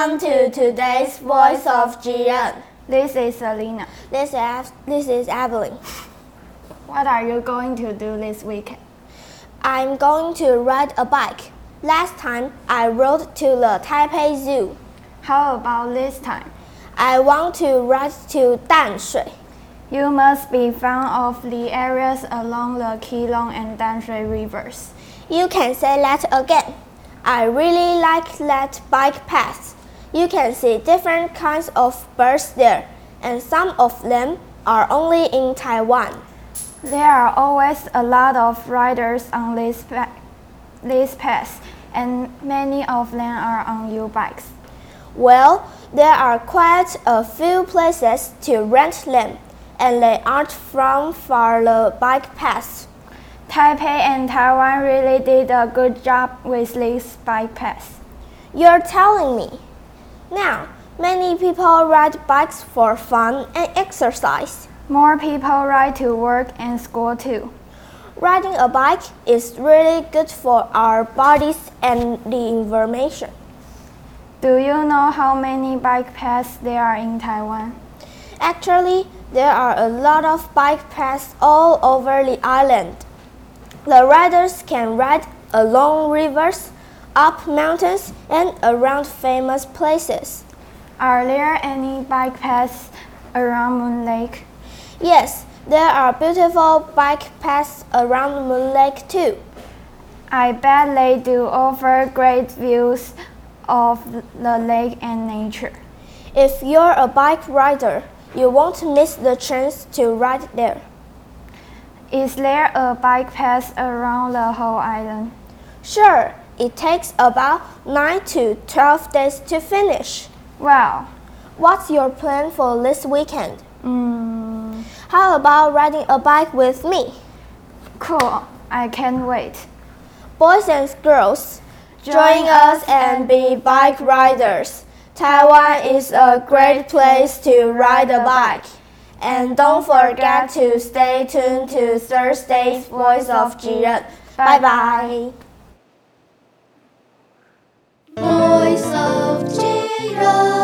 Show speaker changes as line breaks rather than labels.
Welcome to today's Voice of Jiren.
This is Selena.
This is Evelyn.
What are you going to do this weekend?
I'm going to ride a bike. Last time, I rode to the Taipei Zoo.
How about this time?
I want to ride to Danshui.
You must be fond of the areas along the Keelung and Danshui rivers.
You can say that again. I really like that bike path. You can see different kinds of birds there, and some of them are only in Taiwan.
There are always a lot of riders on this path, and many of them are on U-bikes.
Well, there are quite a few places to rent them, and they aren't from far the bike paths.
Taipei and Taiwan really did a good job with these bike paths.
You're telling me. Now, many people ride bikes for fun and exercise.
More people ride to work and school too.
Riding a bike is really good for our bodies and the environment.
Do you know how many bike paths there are in Taiwan?
Actually, there are a lot of bike paths all over the island. The riders can ride along rivers, up mountains, and around famous places.
Are there any bike paths around Moon Lake?
Yes, there are beautiful bike paths around Moon Lake too.
I bet they do offer great views of the lake and nature.
If you're a bike rider, you won't miss the chance to ride there.
Is there a bike path around the whole island?
Sure, it takes about 9 to 12 days to finish.
Wow.
What's your plan for this weekend? How about riding a bike with me?
Cool, I can't wait.
Boys and girls, join us and be bike riders. Taiwan is a great place to ride a bike. And don't forget to stay tuned to Thursday's Voice of Jiren. Bye-bye. Voice of Jiren.